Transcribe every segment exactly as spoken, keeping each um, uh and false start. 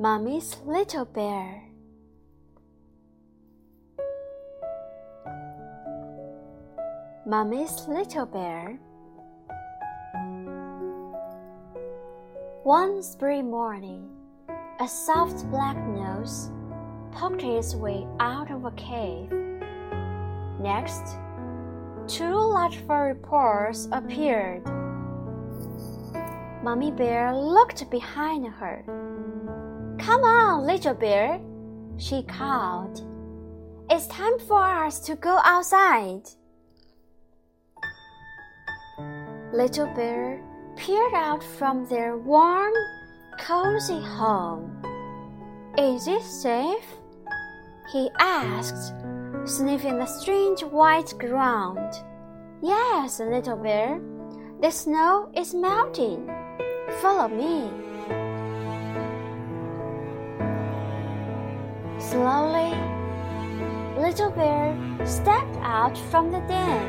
Mommy's Little Bear. Mommy's Little Bear. One spring morning, a soft black nose poked its way out of a cave. Next, two large furry paws appeared. Mommy Bear looked behind her. "Come on, Little Bear," she called. "It's time for us to go outside." Little Bear peered out from their warm, cozy home. "Is it safe?" he asked, sniffing the strange white ground. "Yes, Little Bear. The snow is melting. Follow me." Slowly, Little Bear stepped out from the den.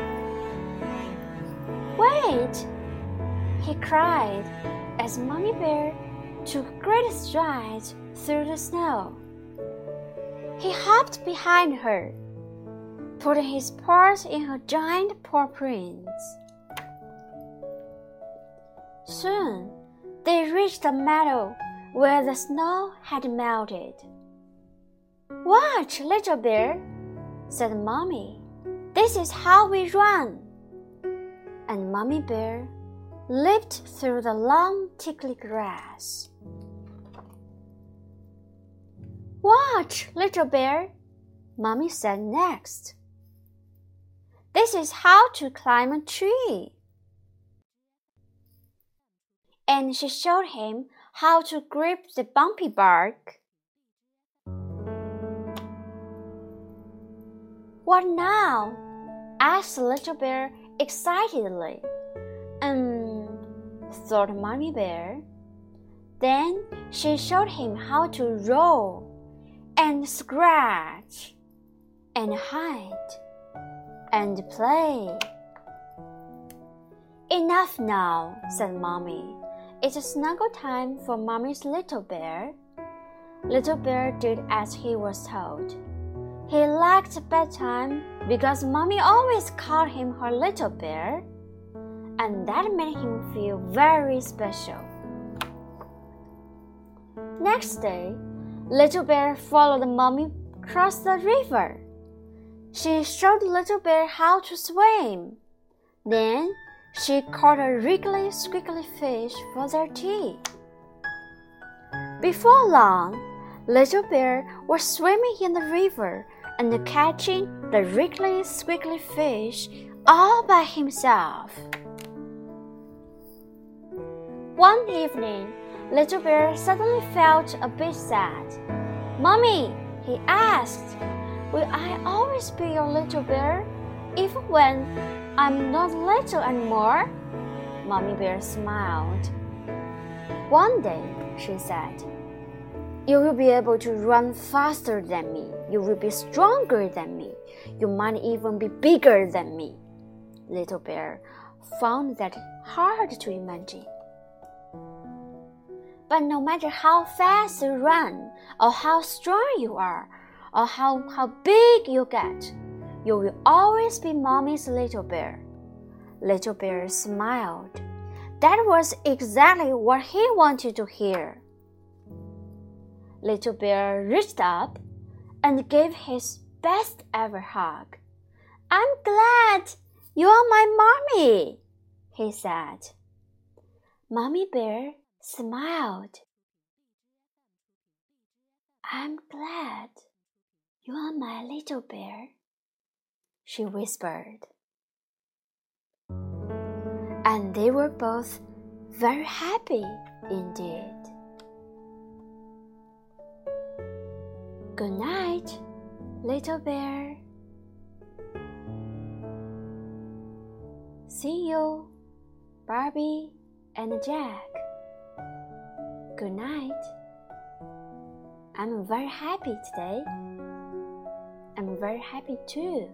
"Wait!" he cried as Mommy Bear took great strides through the snow. He hopped behind her, putting his paws in her giant paw prints. Soon, they reached a meadow where the snow had melted. "Watch, Little Bear," said Mommy. "This is how we run." And Mommy Bear leaped through the long, tickly grass. "Watch, Little Bear," Mommy said next. "This is how to climb a tree." And she showed him how to grip the bumpy bark. "What now?" asked Little Bear excitedly. Um, thought Mommy Bear. Then she showed him how to roll and scratch and hide and play. "Enough now," said Mommy. "It's snuggle time for Mommy's Little Bear." Little Bear did as he was told. He liked bedtime because Mommy always called him her little bear, and that made him feel very special. Next day, Little Bear followed Mommy across the river. She showed Little Bear how to swim. Then she caught a wriggly, squiggly fish for their tea. Before long, Little Bear was swimming in the river and catching the wriggly, squiggly fish all by himself. One evening, Little Bear suddenly felt a bit sad. "Mommy," he asked, "will I always be your little bear, even when I'm not little anymore?" Mommy Bear smiled. "One day," she said, "you will be able to run faster than me. You will be stronger than me. You might even be bigger than me." Little Bear found that hard to imagine. But no matter how fast you run, or how strong you are, or how, how big you get, you will always be Mommy's little bear. Little Bear smiled. That was exactly what he wanted to hear. Little Bear reached up and gave his best ever hug. "I'm glad you're my mommy," he said. Mommy Bear smiled. "I'm glad you're my little bear," she whispered. And they were both very happy indeed. Good night, little bear. See you, Barbie and Jack. Good night. I'm very happy today. I'm very happy too.